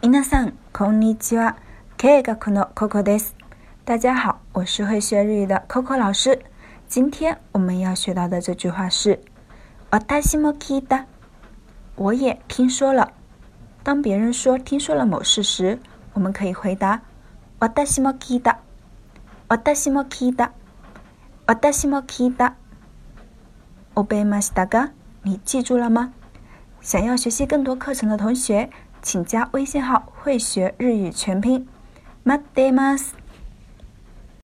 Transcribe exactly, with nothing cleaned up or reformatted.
皆さんこんにちは。経営学の Coco です。大家好，我是会学日语的 Coco 老师。今天我们要学到的这句话是私も聞いた。我也听说了。当别人说听说了某事时，我们可以回答私も聞いた。私も聞いた。私も聞いた。覚えましたか？你记住了吗？想要学习更多课程的同学，请加微信号会学日语全拼。待ってます。